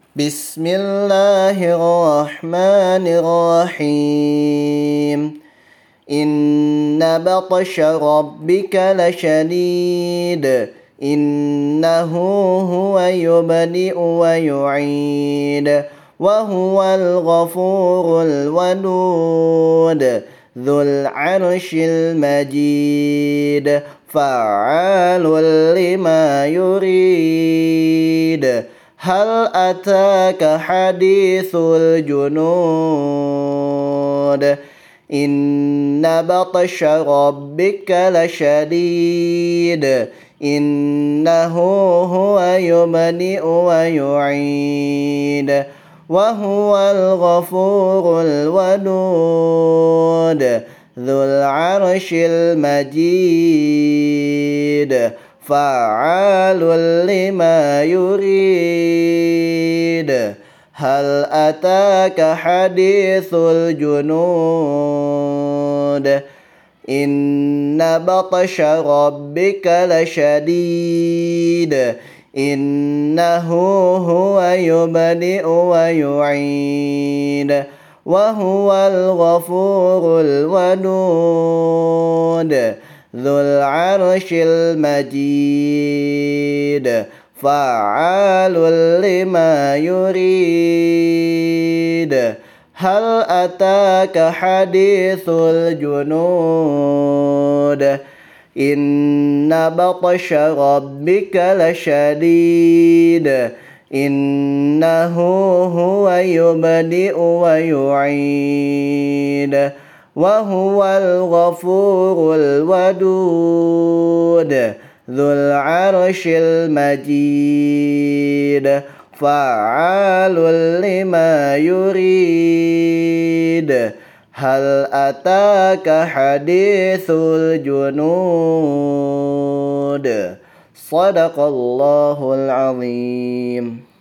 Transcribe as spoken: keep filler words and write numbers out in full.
بسم الله الرحمن الرحيم إن بطش ربك لشديد إنه هو يبدئ ويعيد وهو الغفور الودود ذو العرش المجيد فعال لما يريد هل أتاك حديث الجنود إن بطش ربك لشديد إنه هو يبدئ ويعيد وهو الغفور الودود ذو العرش المجيد فعال لما يريد هل أتاك حديث الجنود إن بطش ربك لشديد إنه هو يبدئ ويعيد وهو الغفور الودود ذو العرش المجيد فعال لما يريد هل أتاك حديث الجنود إن بطش ربك لشديد إنه هو يبدئ ويعيد وهو الغفور الودود ذو العرش المجيد فعال لما يريد هل أتاك حديث الجنود صدق الله العظيم.